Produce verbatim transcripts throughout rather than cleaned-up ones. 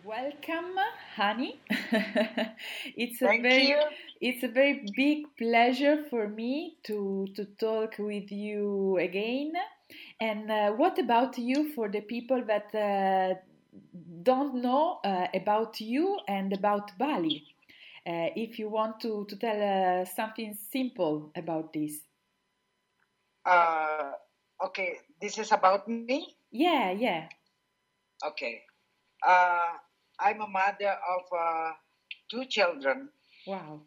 Welcome, Hani. it's a Thank very you. it's a very big pleasure for me to to talk with you again. And uh, what about you for the people that uh, don't know uh, about you and about Bali? Uh, if you want to to tell uh, something simple about this. Uh, okay, this is about me. Yeah, yeah. Okay. Uh, I'm a mother of uh, two children. Wow.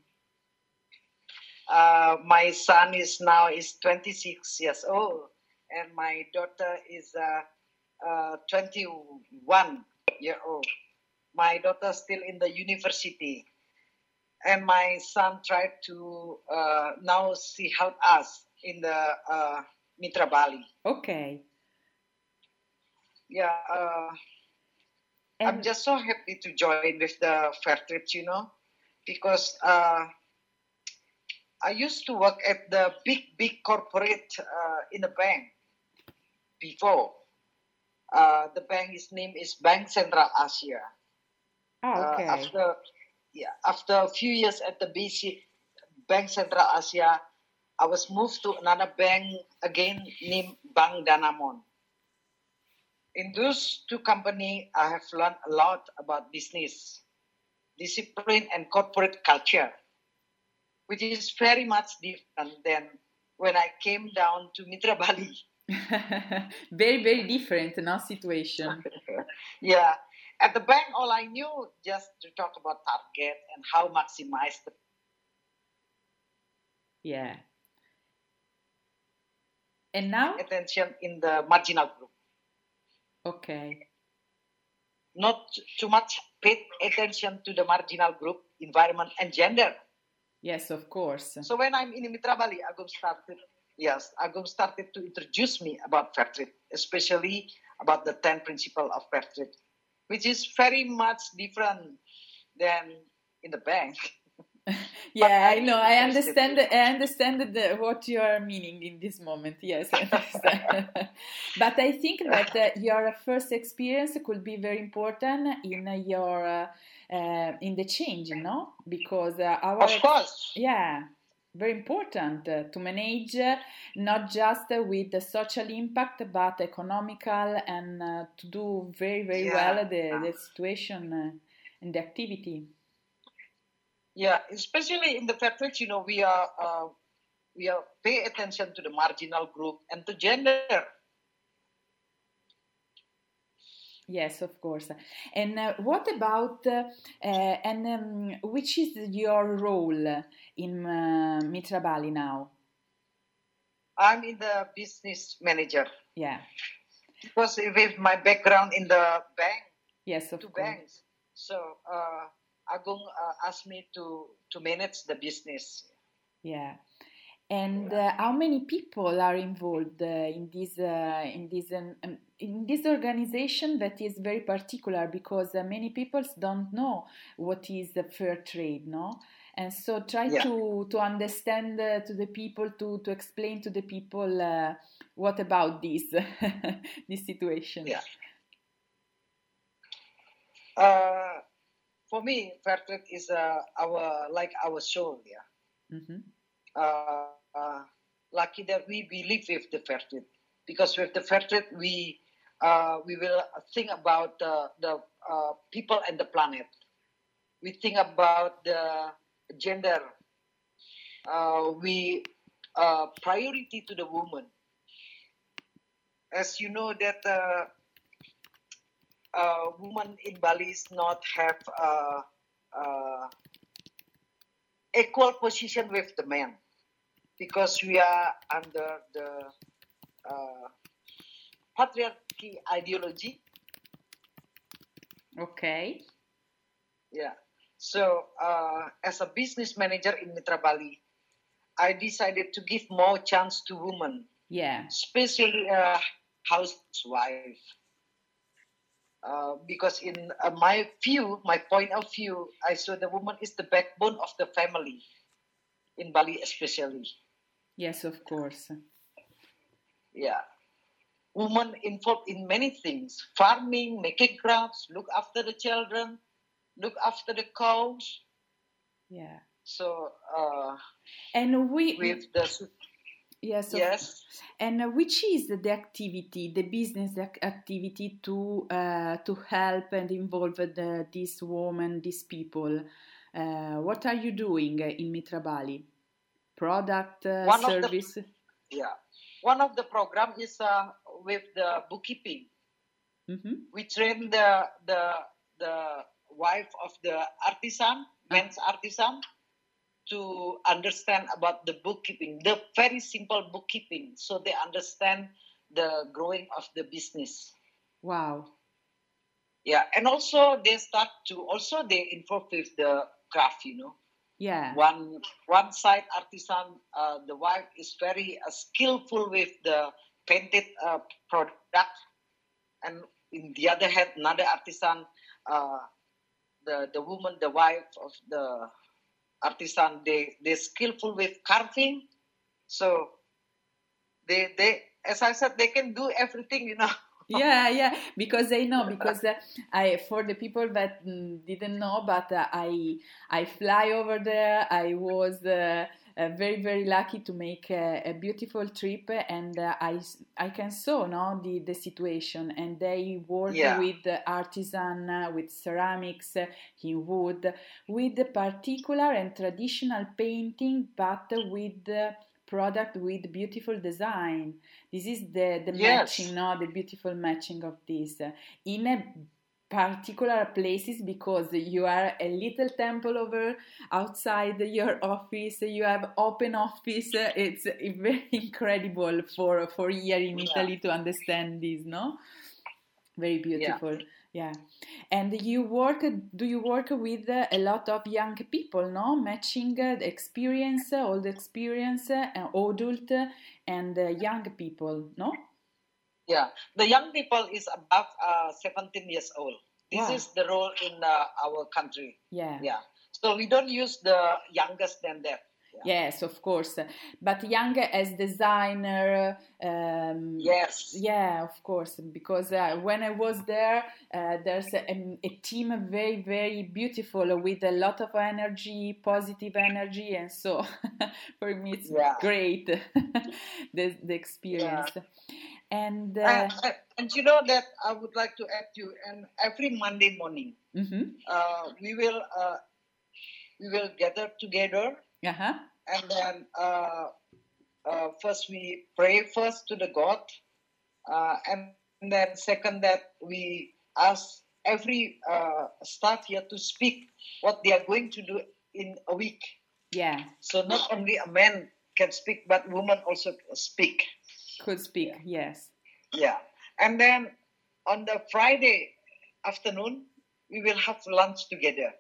Uh, my son is now is twenty-six years old, and my daughter is uh, uh, twenty-one year old. My daughter still in the university, and my son tried to uh, now she help us in the uh, Mitra Bali. Okay. Yeah. Uh, I'm And just so happy to join with the fair trips, you know, because uh, I used to work at the big, big corporate uh, in a bank before. Uh, the bank's name is Bank Central Asia. ah, Uh, okay. after yeah, after a few years at the B C Bank Central Asia, I was moved to another bank again named Bank Danamon. In those two companies, I have learned a lot about business, discipline, and corporate culture, which is very much different than when I came down to Mitra Bali. Very, very different, no situation. Yeah. At the bank, all I knew just to talk about target and how maximize the Yeah. And now? attention in the marginal group. Okay. Not too much paid attention to the marginal group, environment, and gender. Yes, of course. So when I'm in Mitra Bali, Agum started, yes, Agum started to introduce me about fair trade, especially about the ten principle of fair trade, which is very much different than in the bank. But Yeah, I I know. really I interested understand. very I much. understand the, what you are meaning in this moment. Yes, I understand. But I think that uh, your first experience could be very important in uh, your uh, uh, in the change, no? Because uh, our Of ex- course. yeah, very important uh, to manage uh, not just uh, with the social impact, but economical and uh, to do very very well Yeah. the the situation uh, and the activity. Yeah. Especially in the fair trade, you know, we are uh, we are pay attention to the marginal group and to gender. Yes, of course. And uh, what about uh, uh, and um, which is your role in uh, Mitra Bali now? I'm in the business manager Yeah. because with my background in the bank, Yes, two of course. banks, so uh, Agung uh, asked me to to manage the business. Yeah. And Yeah. uh, how many people are involved uh, in this uh, in this um, um, in this organization that is very particular because uh, many people don't know what is the fair trade, no? And so try Yeah. to to understand uh, to the people to to explain to the people uh, what about this this situation. Yeah. Uh, for me, fair trade is uh, our like our soul. Yeah. Hmm. Uh, uh, lucky that we believe with the fair trade, because with the fair trade we uh, we will think about the the uh, people and the planet. We think about the gender. Uh, we uh, priority to the woman. As you know that uh, uh, woman in Bali is not have uh, uh, equal position with the men, because we are under the uh, patriarchy ideology. Okay. Yeah. So uh, as a business manager in Mitra Bali, I decided to give more chance to women, Yeah. especially a housewife. Uh, because in uh, my view, my point of view, I saw the woman is the backbone of the family in Bali, especially. Yes, of course. Yeah. women involved in many things: farming, making crafts, look after the children, look after the cows. Yeah. So uh, And we, with the yes, of- yes, and uh, which is the activity, the business ac- activity to uh, to help and involve the, this woman, these people? Uh, what are you doing in Mitra Bali? Product, uh, one of the service? yeah, one of the program is uh, with the bookkeeping. Mhm. We train the the the wife of the artisan, men's artisan, to understand about the bookkeeping, the very simple bookkeeping, so they understand the growing of the business. Wow. Yeah, and also they start to also they involve with the craft, you know. Yeah. One one side artisan, uh, the wife is very uh, skillful with the painted uh, product, and in the other hand, another artisan, uh, the the woman, the wife of the artisan, they they skillful with carving. So they they as I said, they can do everything, you know. Yeah, yeah, because I know, because uh, I, for the people that mm, didn't know, but uh, I I fly over there. I was uh, uh, very very lucky to make a, a beautiful trip, and uh, I s- I can saw no the the situation, and they work Yeah. with uh, artisan, uh, with ceramics, uh, in wood, with the particular and traditional painting, but with uh, product with beautiful design. This is the the Yes. matching, no, the beautiful matching of this uh, in a particular places, because you are a little temple over outside your office. You have open office. uh, It's uh, very incredible for for here in Yeah. Italy to understand this, no? Very Yeah. beautiful. Yeah. And you work, do you work with uh, a lot of young people, no? Matching uh, the experience, uh, all the experience, uh, and adult uh, and uh, young people, no? Yeah, the young people is above uh, seventeen years old. This Wow. is the role in uh, our country. Yeah. Yeah. So we don't use the youngest than that. Yeah. Yes, of course. But young as designer, um, Yes. yeah, of course. Because uh, when I was there, uh, there's a, a team very, very beautiful with a lot of energy, positive energy, and so for me it's Yeah. great the the experience. Yeah. And uh, And, and, and you know that I would like to add you. And every Monday morning, mhm. uh, we will uh, we will gather together, Uh-huh. and then uh, uh, first we pray first to the God, uh, and then second that we ask every uh, staff here to speak what they are going to do in a week. Yeah. So not only a man can speak, but women also speak. Could speak, yes. Yeah. And then on the Friday afternoon, we will have lunch together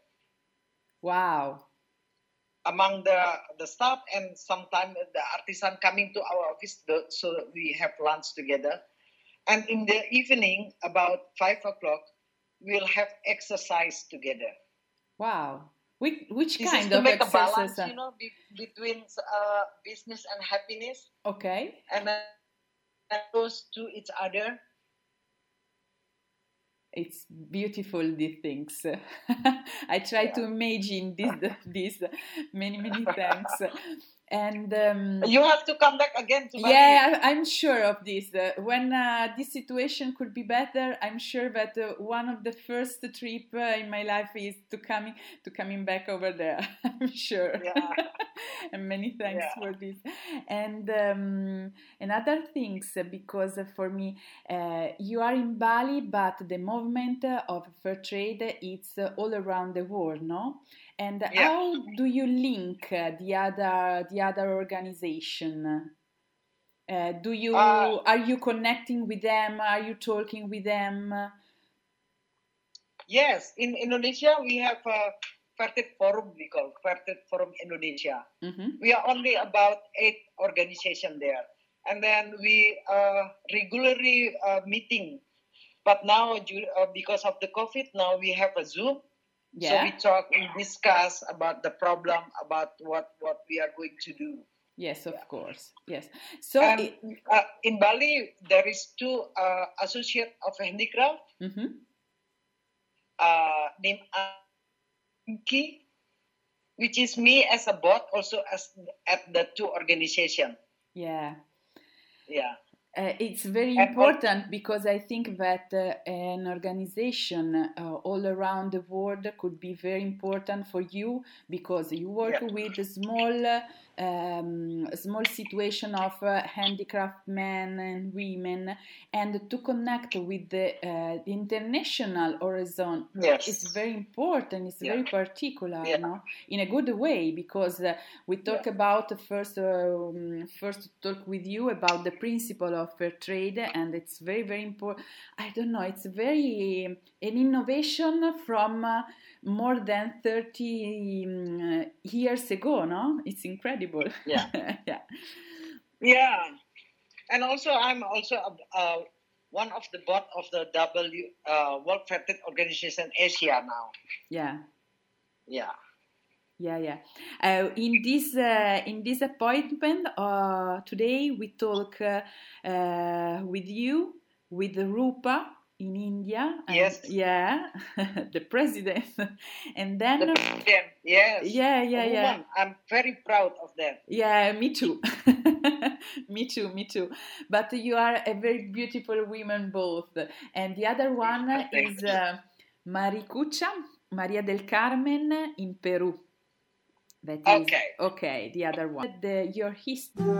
Wow. among the the staff, and sometimes the artisan coming to our office, the, so we have lunch together. And in the evening, about five o'clock, we'll have exercise together. Wow. Which, which This kind is to of make a exercise? balance, you know, be, between uh, business and happiness, Okay. and then close to each other. It's beautiful, these things. I try Yeah. to imagine this, this. Many, many thanks. And um, You have to come back again to Bali. yeah, I- I'm sure of this. Uh, when uh, this situation could be better, I'm sure that uh, one of the first trip uh, in my life is to coming to coming back over there. I'm sure. Yeah. And many thanks Yeah. for this. And um, and other things, uh, because uh, for me, uh, you are in Bali, but the movement uh, of fair trade it's uh, all around the world, no? And Yeah. how do you link uh, the other the other organization? Uh, do you Uh, are you connecting with them? Are you talking with them? yes, in Indonesia we have a Fairtrade Forum, we call Fairtrade Forum Indonesia. Mm-hmm. We are only about eight organizations there, and then we uh, regularly uh, meeting. But now, uh, because of the COVID, now we have a Zoom. Yeah. So we talk, we discuss about the problem, about what, what we are going to do. Yes, of course. Yes. So And, it, uh, in Bali, there is two uh, associate of handicraft mm-hmm. uh, named Anki, which is me as a board, also as at the two organization. Yeah. Yeah. Uh, it's very And important all, because I think that uh, an organization uh, all around the world could be very important for you because you work yeah. with small, uh, um, small situation of uh, handicraft men and women, and to connect with the, uh, the international horizon yes. is very important. It's yeah. very particular, yeah. no? In a good way, because uh, we talk yeah. about first, um, first talk with you about the principle of fair trade, and it's very very important. I don't know, it's very um, an innovation from uh, more than thirty um, years ago, no? It's incredible. Yeah. yeah. Yeah. And also I'm also uh, one of the board of the W uh, World Fair Trade Organization Asia now. Yeah. Yeah. Yeah, yeah. Uh, in this uh, in this appointment uh, today, we talk uh, uh, with you with Rupa in India. And, yes. Yeah, the president, and then the president. Yes. Yeah, yeah, yeah. I'm very proud of that. Yeah, me too. me too, me too. But you are a very beautiful woman both. And the other one is uh, Maricucha, Maria del Carmen in Peru. That is, okay. Okay, the other one. The, your history.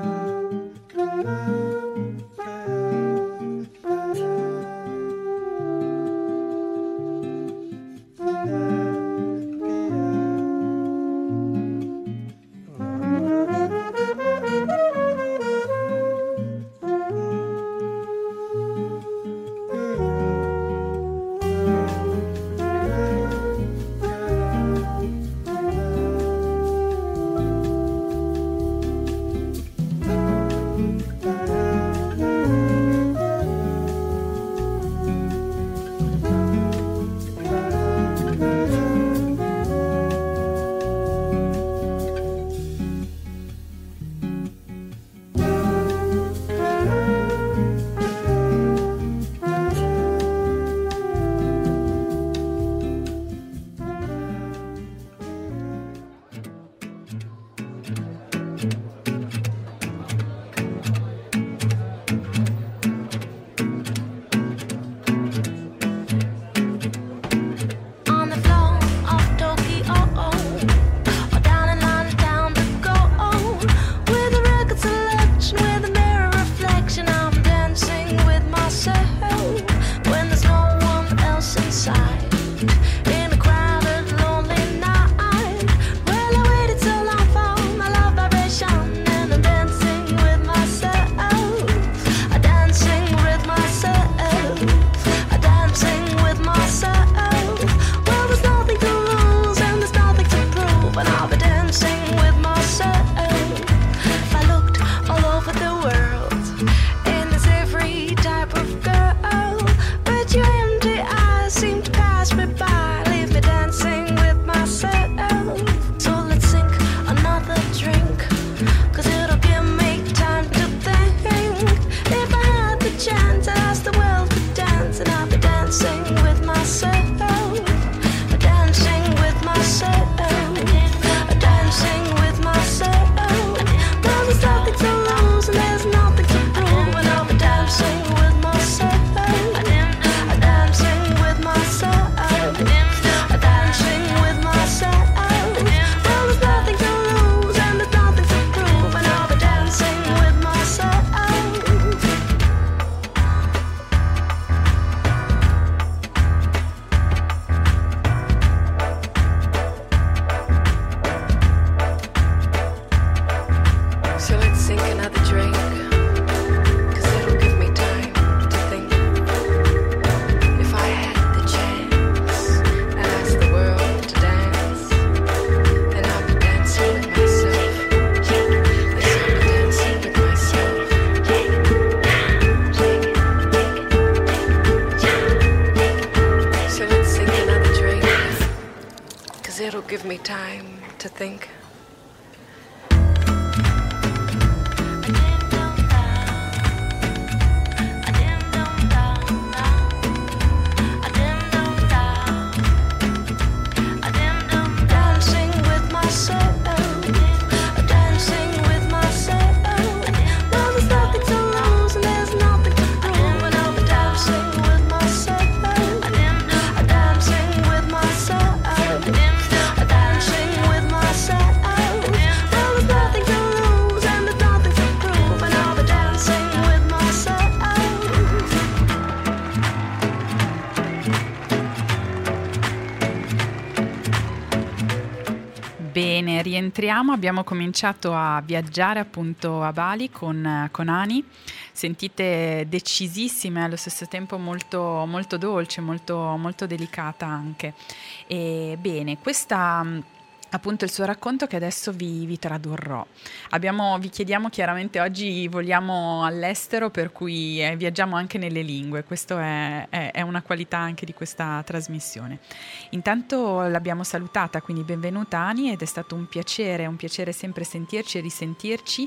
It'll give me time to think. Bene, rientriamo, abbiamo cominciato a viaggiare appunto a Bali con, con Ani, sentite decisissime, allo stesso tempo molto, molto dolce, molto, molto delicata anche. E bene, questa appunto il suo racconto che adesso vi, vi tradurrò. Abbiamo, vi chiediamo chiaramente, oggi voliamo all'estero, per cui eh, viaggiamo anche nelle lingue, questo è, è, è una qualità anche di questa trasmissione. Intanto l'abbiamo salutata, quindi benvenuta Ani, ed è stato un piacere, un piacere sempre sentirci e risentirci,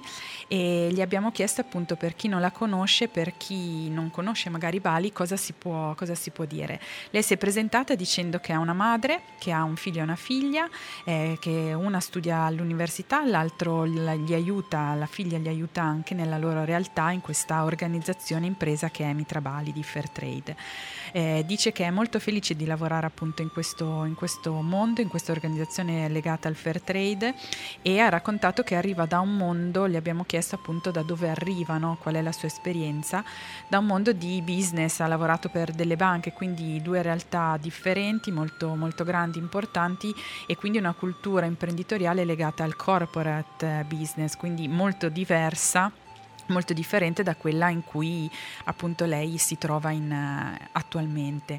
e gli abbiamo chiesto appunto, per chi non la conosce, per chi non conosce magari Bali, cosa si può, cosa si può dire. Lei si è presentata dicendo che ha una madre, che ha un figlio e una figlia, eh, che una studia all'università, l'altro gli aiuta, la figlia gli aiuta anche nella loro realtà in questa organizzazione impresa che è Mitra Bali di Fairtrade. Eh, dice che è molto felice di lavorare appunto in questo, in questo mondo, in questa organizzazione legata al Fairtrade, e ha raccontato che arriva da un mondo, gli abbiamo chiesto appunto da dove arrivano, qual è la sua esperienza, da un mondo di business, ha lavorato per delle banche, quindi due realtà differenti, molto, molto grandi, importanti, e quindi una cultura imprenditoriale legata al corporate business, quindi molto diversa, molto differente da quella in cui appunto lei si trova in, uh, attualmente,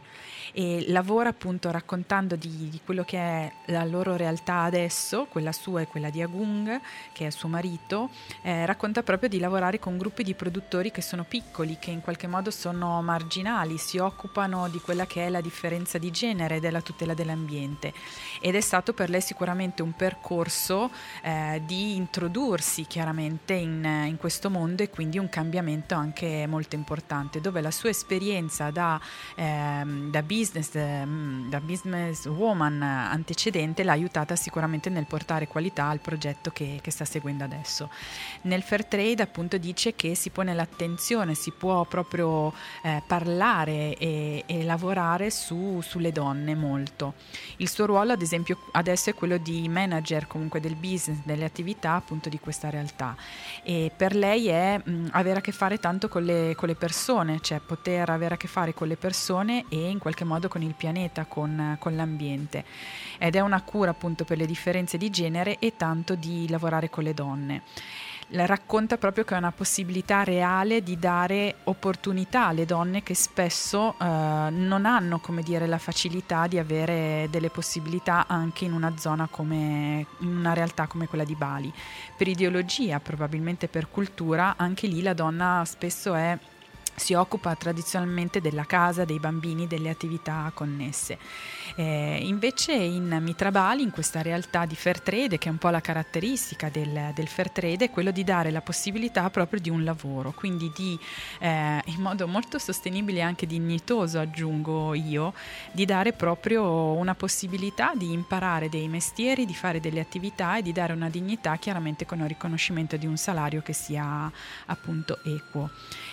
e lavora appunto raccontando di, di quello che è la loro realtà adesso, quella sua e quella di Agung, che è suo marito. Eh, racconta proprio di lavorare con gruppi di produttori che sono piccoli, che in qualche modo sono marginali, si occupano di quella che è la differenza di genere e della tutela dell'ambiente, ed è stato per lei sicuramente un percorso eh, di introdursi chiaramente in, in questo mondo, e quindi un cambiamento anche molto importante, dove la sua esperienza da, ehm, da business ehm, da business woman antecedente l'ha aiutata sicuramente nel portare qualità al progetto che, che sta seguendo adesso. Nel Fairtrade appunto dice che si pone l'attenzione, si può proprio eh, parlare e, e lavorare su, sulle donne molto. Il suo ruolo ad esempio adesso è quello di manager comunque del business, delle attività appunto di questa realtà, e per lei è mh, avere a che fare tanto con le, con le persone, cioè poter avere a che fare con le persone e in qualche modo con il pianeta, con, con l'ambiente, ed è una cura appunto per le differenze di genere e tanto di lavorare con le donne. La racconta proprio che è una possibilità reale di dare opportunità alle donne che spesso eh, non hanno, come dire, la facilità di avere delle possibilità anche in una zona come, in una realtà come quella di Bali. Per ideologia, probabilmente per cultura, anche lì la donna spesso è si occupa tradizionalmente della casa, dei bambini, delle attività connesse. Eh, invece in Mitra Bali, in questa realtà di Fairtrade, che è un po' la caratteristica del, del Fairtrade, è quello di dare la possibilità proprio di un lavoro, quindi di, eh, in modo molto sostenibile e anche dignitoso, aggiungo io, di dare proprio una possibilità di imparare dei mestieri, di fare delle attività e di dare una dignità, chiaramente con il riconoscimento di un salario che sia appunto equo.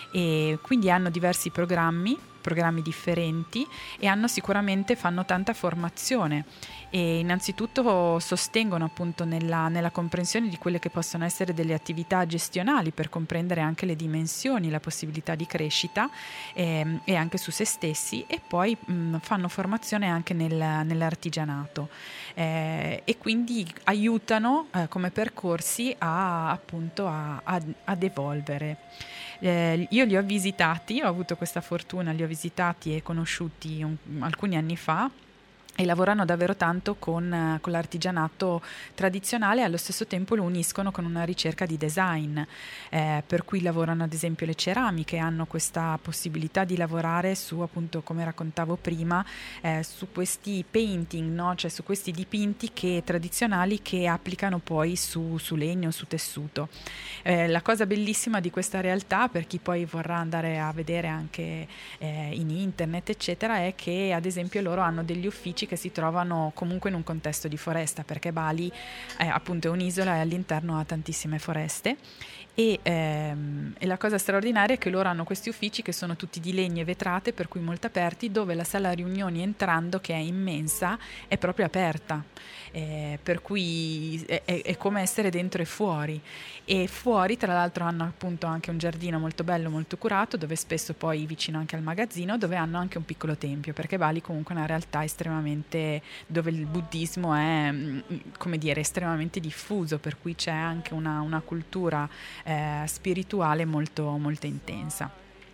E quindi hanno diversi programmi, programmi differenti, e hanno sicuramente fanno tanta formazione, e innanzitutto sostengono appunto nella, nella comprensione di quelle che possono essere delle attività gestionali, per comprendere anche le dimensioni, la possibilità di crescita eh, e anche su se stessi, e poi mh, fanno formazione anche nel, nell'artigianato eh, e quindi aiutano eh, come percorsi a, appunto a, a, ad evolvere. Eh, io li ho visitati, ho avuto questa fortuna, li ho visitati e conosciuti un, alcuni anni fa, e lavorano davvero tanto con, con l'artigianato tradizionale, e allo stesso tempo lo uniscono con una ricerca di design, eh, per cui lavorano ad esempio le ceramiche, hanno questa possibilità di lavorare su, appunto, come raccontavo prima, eh, su questi painting, no? Cioè su questi dipinti che, tradizionali, che applicano poi su, su legno, su tessuto. Eh, la cosa bellissima di questa realtà, per chi poi vorrà andare a vedere anche eh, in internet eccetera, è che ad esempio loro hanno degli uffici che si trovano comunque in un contesto di foresta, perché Bali eh, appunto è un'isola e all'interno ha tantissime foreste, E, ehm, e la cosa straordinaria è che loro hanno questi uffici che sono tutti di legno e vetrate, per cui molto aperti, dove la sala riunioni, entrando, che è immensa, è proprio aperta, eh, per cui è, è, è come essere dentro e fuori. E fuori, tra l'altro, hanno appunto anche un giardino molto bello, molto curato, dove spesso poi vicino anche al magazzino, dove hanno anche un piccolo tempio, perché Bali comunque è una realtà estremamente, dove il buddismo è, come dire, estremamente diffuso, per cui c'è anche una, una cultura eh, spirituale molto, molto intensa.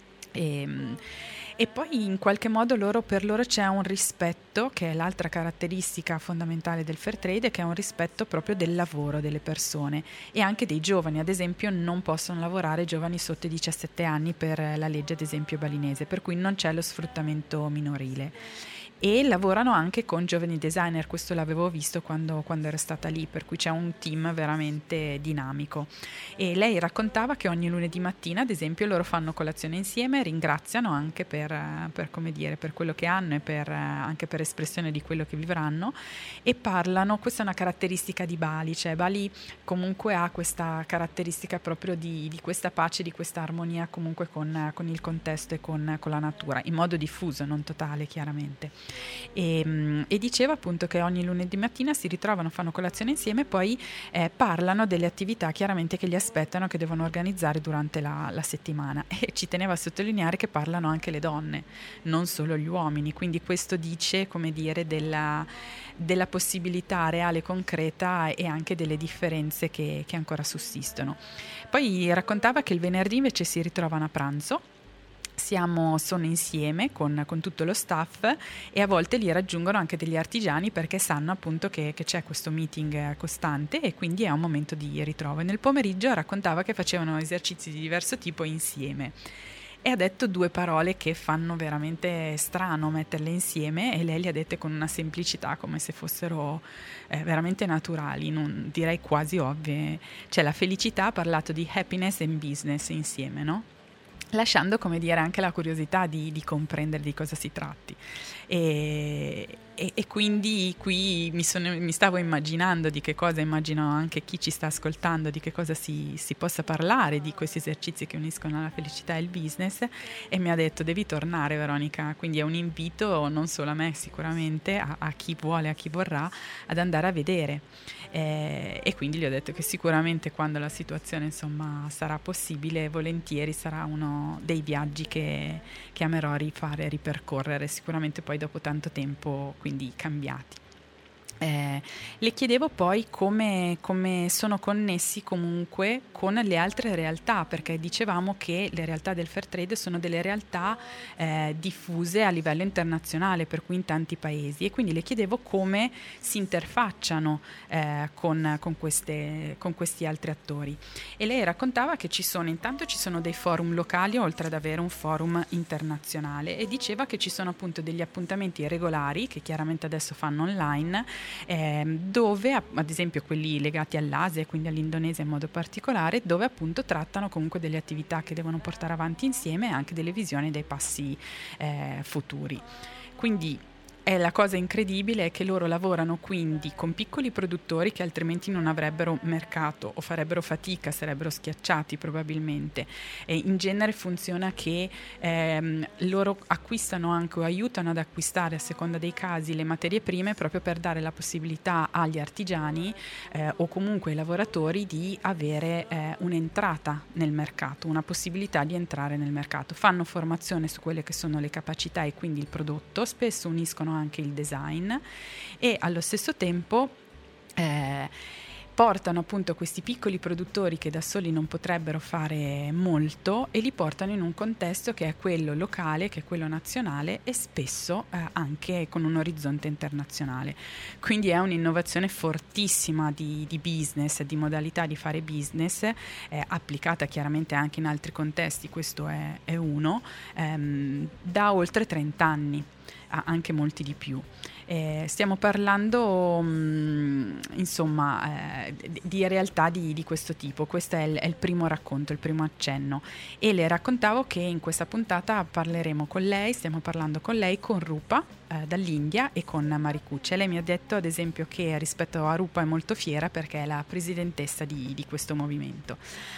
E, e poi in qualche modo loro, per loro c'è un rispetto, che è l'altra caratteristica fondamentale del fair trade, che è un rispetto proprio del lavoro delle persone e anche dei giovani. Ad esempio non possono lavorare giovani sotto i diciassette anni per la legge ad esempio balinese, per cui non c'è lo sfruttamento minorile. E lavorano anche con giovani designer, questo l'avevo visto quando, quando ero stata lì, per cui c'è un team veramente dinamico. E lei raccontava che ogni lunedì mattina, ad esempio, loro fanno colazione insieme, ringraziano anche per, per, come dire, per quello che hanno e per, anche per espressione di quello che vivranno, e parlano, questa è una caratteristica di Bali, cioè Bali comunque ha questa caratteristica proprio di, di questa pace, di questa armonia comunque con, con il contesto e con, con la natura, in modo diffuso, non totale chiaramente. E, e diceva appunto che ogni lunedì mattina si ritrovano, fanno colazione insieme e poi eh, parlano delle attività chiaramente che li aspettano, che devono organizzare durante la, la settimana, e ci teneva a sottolineare che parlano anche le donne, non solo gli uomini, quindi questo dice, come dire, della, della possibilità reale, concreta, e anche delle differenze che, che ancora sussistono. Poi raccontava che il venerdì invece si ritrovano a pranzo. Siamo, sono insieme con, con tutto lo staff, e a volte li raggiungono anche degli artigiani, perché sanno appunto che, che c'è questo meeting costante, e quindi è un momento di ritrovo. E nel pomeriggio raccontava che facevano esercizi di diverso tipo insieme, e ha detto due parole che fanno veramente strano metterle insieme, e lei le ha dette con una semplicità, come se fossero eh, veramente naturali, non, direi quasi ovvie. Cioè la felicità, ha parlato di happiness and business insieme, no? Lasciando, come dire, anche la curiosità di, di comprendere di cosa si tratti. E, e, e quindi qui mi, sono, mi stavo immaginando di che cosa, immagino anche chi ci sta ascoltando, di che cosa si, si possa parlare di questi esercizi che uniscono la felicità e il business, e mi ha detto: devi tornare, Veronica. Quindi è un invito non solo a me, sicuramente a, a chi vuole, a chi vorrà, ad andare a vedere. Eh, e quindi gli ho detto che sicuramente, quando la situazione insomma sarà possibile, volentieri sarà uno dei viaggi che, che amerò rifare, ripercorrere, sicuramente poi dopo tanto tempo, quindi cambiati. Eh, le chiedevo poi come, come sono connessi comunque con le altre realtà, perché dicevamo che le realtà del fair trade sono delle realtà eh, diffuse a livello internazionale, per cui in tanti paesi, e quindi le chiedevo come si interfacciano eh, con, con, queste, con questi altri attori. E lei raccontava che ci sono, intanto ci sono dei forum locali oltre ad avere un forum internazionale, e diceva che ci sono appunto degli appuntamenti regolari che chiaramente adesso fanno online, Eh, dove ad esempio quelli legati all'Asia e quindi all'Indonesia in modo particolare, dove appunto trattano comunque delle attività che devono portare avanti insieme, e anche delle visioni dei passi eh, futuri. Quindi è la cosa incredibile è che loro lavorano quindi con piccoli produttori che altrimenti non avrebbero mercato o farebbero fatica, sarebbero schiacciati probabilmente. E in genere funziona che ehm, loro acquistano anche o aiutano ad acquistare, a seconda dei casi, le materie prime, proprio per dare la possibilità agli artigiani eh, o comunque ai lavoratori di avere eh, un'entrata nel mercato, una possibilità di entrare nel mercato. Fanno formazione su quelle che sono le capacità e quindi il prodotto, spesso uniscono anche il design, e allo stesso tempo eh, portano appunto questi piccoli produttori che da soli non potrebbero fare molto, e li portano in un contesto che è quello locale, che è quello nazionale, e spesso eh, anche con un orizzonte internazionale. Quindi è un'innovazione fortissima di, di business, di modalità di fare business, eh, applicata chiaramente anche in altri contesti, questo è, è uno, ehm, da oltre trenta anni, anche molti di più. Eh, stiamo parlando mh, insomma eh, di realtà di, di questo tipo. Questo è il, è il primo racconto, il primo accenno, e le raccontavo che in questa puntata parleremo con lei, stiamo parlando con lei, con Rupa eh, dall'India e con Maricuccia. Lei mi ha detto ad esempio che rispetto a Rupa è molto fiera perché è la presidentessa di, di questo movimento.